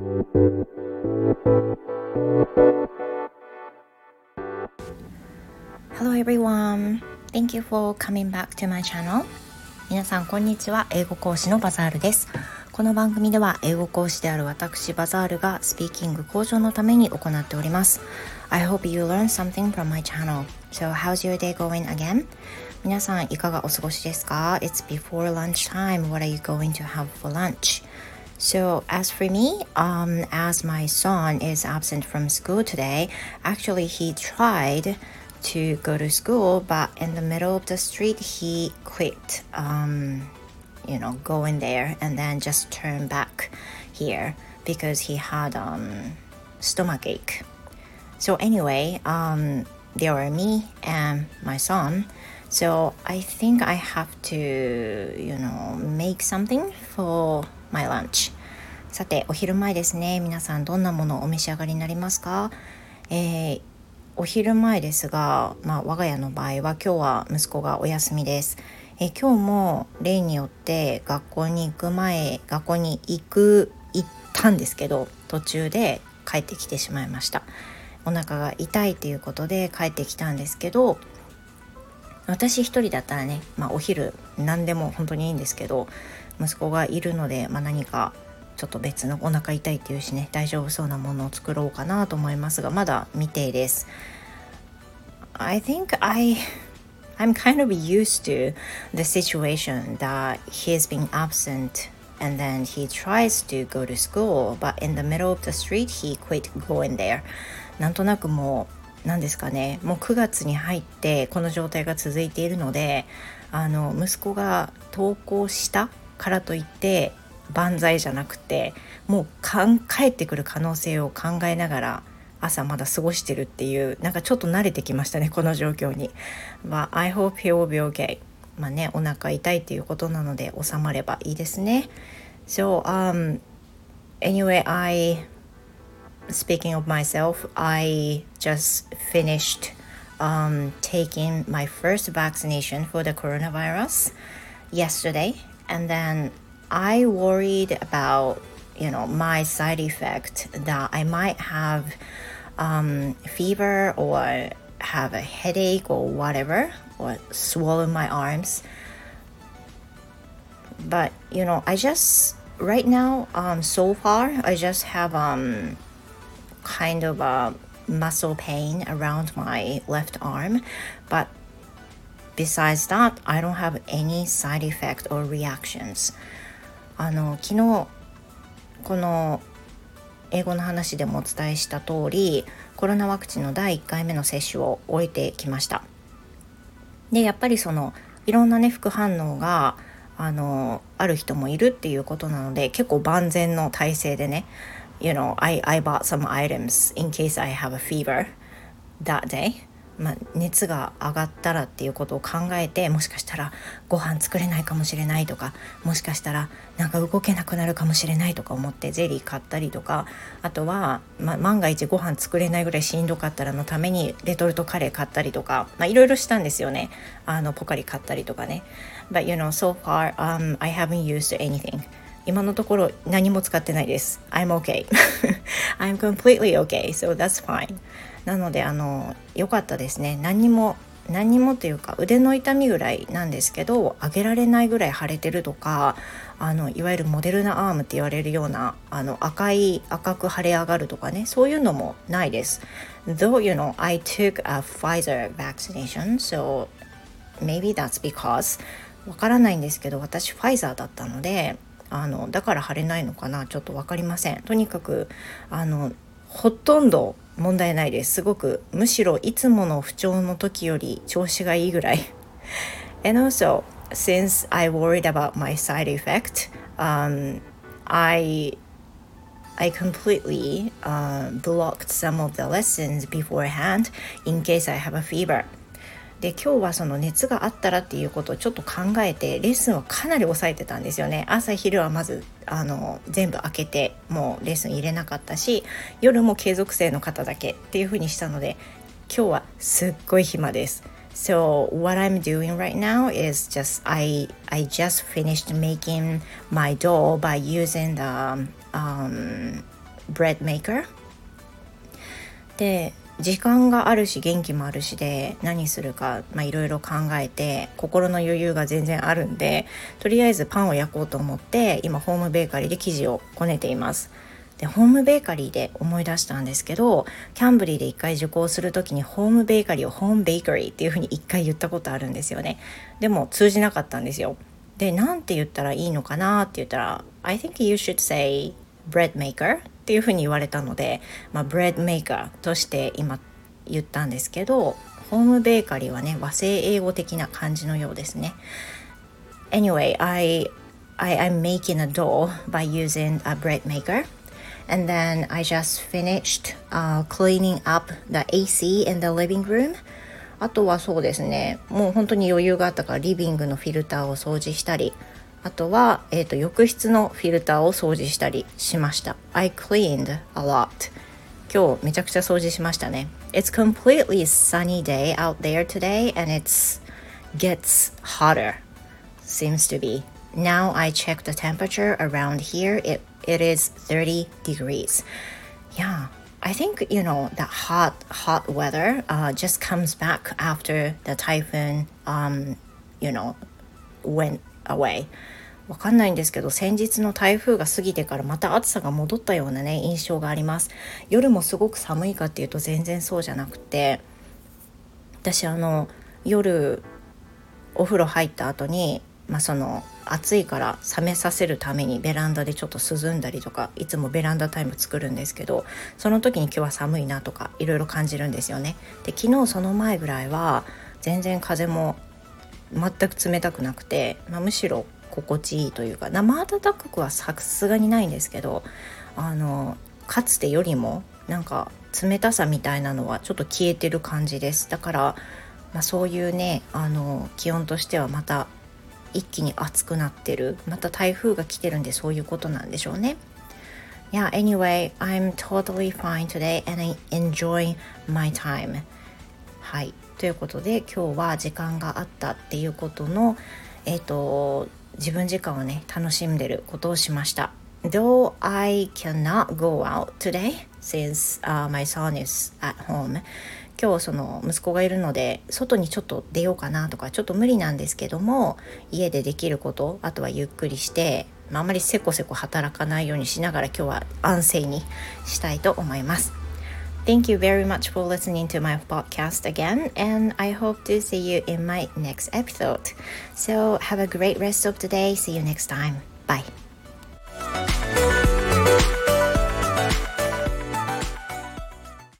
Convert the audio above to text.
Hello everyone. Thank you for coming back to my channel. 皆さんこんにちは。英語講師のバザールです。この番組では英語講師である私バザールがスピーキング向上のために行っております。I hope you learn something from my channel. So how's your day going again? 皆さんいかがお過ごしですか？ It's before lunchtime. What are you going to have for lunch?So as for me, as my son is absent from school today, actually he tried to go to school, but in the middle of the street he quit, going there and then just turn back here because he had stomach ache. So anyway, there were me and my son.So I think I have to, make something for my lunch. さて、お昼前ですね。皆さんどんなものをお召し上がりになりますか？お昼前ですが、我が家の場合は今日は息子がお休みです。今日も例によって学校に行ったんですけど、途中で帰ってきてしまいました。お腹が痛いということで帰ってきたんですけど、私一人だったらね、お昼何でも本当にいいんですけど、息子がいるので、何かちょっと別のお腹痛いっていうしね、大丈夫そうなものを作ろうかなと思いますが、まだ未定です。I think I'm kind of used to the situation that he's been absent and then he tries to go to school, but in the middle of the street he quit going there. なんとなくもう何ですかね、もう9月に入ってこの状態が続いているので、息子が登校したからといって万歳じゃなくて、もう帰ってくる可能性を考えながら朝まだ過ごしてるっていう、なんかちょっと慣れてきましたね、この状況に。I hope he will be okay. お腹痛いっていうことなので収まればいいですね。So anyway, speaking of myself, I just finished taking my first vaccination for the coronavirus yesterday, and then I worried about, my side effect that I might have fever or have a headache or whatever, or swollen my arms. But, I just, right now, so far, I just have kind of a muscle pain around my left arm, but besides that, I don't have any side effect or reactions. 昨日この英語の話でもお伝えした通り、コロナワクチンの第1回目の接種を終えてきました。で、やっぱりいろんなね副反応がある人もいるっていうことなので、結構万全の体制でね、I bought some items in case I have a fever that day. 熱が上がったらっていうことを考えて、もしかしたらご飯作れないかもしれないとか、もしかしたらなんか動けなくなるかもしれないとか思ってゼリー買ったりとか、あとは、万が一ご飯作れないぐらいしんどかったらのためにレトルトカレー買ったりとか、いろいろしたんですよね。ポカリ買ったりとかね。But so far, I haven't used anything.今のところ何も使ってないです。I'm okay. I'm completely okay. So that's fine. なので良かったですね。何にもというか、腕の痛みぐらいなんですけど、上げられないぐらい腫れてるとか、いわゆるモデルナアームって言われるような赤く腫れ上がるとかね、そういうのもないです。Though I took a Pfizer vaccination, so maybe that's because わからないんですけど、私ファイザーだったので。だから腫れないのかな、ちょっと分かりません。とにかくほとんど問題ないです。すごく、むしろいつもの不調の時より調子がいいぐらいAnd also, since I worried about my side effect, I completely blocked some of the lessons beforehand in case I have a fever.で、今日はその熱があったらっていうことをちょっと考えて、レッスンをかなり抑えてたんですよね。朝昼はまず全部開けて、もうレッスン入れなかったし、夜も継続生の方だけっていう風にしたので、今日はすっごい暇です。So what I'm doing right now is just I just finished making my dough by using bread maker で、時間があるし元気もあるしで何するかいろいろ考えて心の余裕が全然あるんで、とりあえずパンを焼こうと思って今ホームベーカリーで生地をこねています。でホームベーカリーで思い出したんですけど、キャンブリーで一回受講するときにホームベーカリーをホームベーカリーっていう風に一回言ったことあるんですよね。でも通じなかったんですよ。でなんて言ったらいいのかなって言ったら I think you should say bread maker っていう風に言われたので、ブレッドメーカーとして今言ったんですけど、ホームベーカリーはね和製英語的な感じのようですね。 Anyway, I'm making a dough by using a bread maker, and then I just finished cleaning up the AC in the living room. あとはそうですね、もう本当に余裕があったからリビングのフィルターを掃除したり、あとは、浴室のフィルターを掃除したりしました。 I cleaned a lot. 今日めちゃくちゃ掃除しましたね。 It's completely sunny day out there today and it gets hotter. Seems to be. Now I check the temperature around here. It is 30 degrees. Yeah, I think, that hot weather just comes back after the typhoon, went away. わかんないんですけど、先日の台風が過ぎてからまた暑さが戻ったようなね印象があります。夜もすごく寒いかっていうと全然そうじゃなくて、私夜お風呂入った後に、その暑いから冷めさせるためにベランダでちょっと涼んだりとか、いつもベランダタイム作るんですけど、その時に今日は寒いなとかいろいろ感じるんですよね。で昨日その前ぐらいは全然風も全く冷たくなくて、むしろ心地いいというか、生暖かくはさすがにないんですけど、かつてよりもなんか冷たさみたいなのはちょっと消えてる感じです。だから、そういうね気温としてはまた一気に暑くなってる、また台風が来てるんでそういうことなんでしょうね。Yeah, anyway, I'm totally fine today and I enjoy my time. はい、ということで今日は時間があったっていうことの自分時間をね楽しんでることをしました。Though I cannot go out today since、my son is at home. 今日その息子がいるので外にちょっと出ようかなとかちょっと無理なんですけども、家でできること、あとはゆっくりして、あんまりせこせこ働かないようにしながら今日は安静にしたいと思います。Thank you very much for listening to my podcast again, and I hope to see you in my next episode. So have a great rest of the day. See you next time. Bye.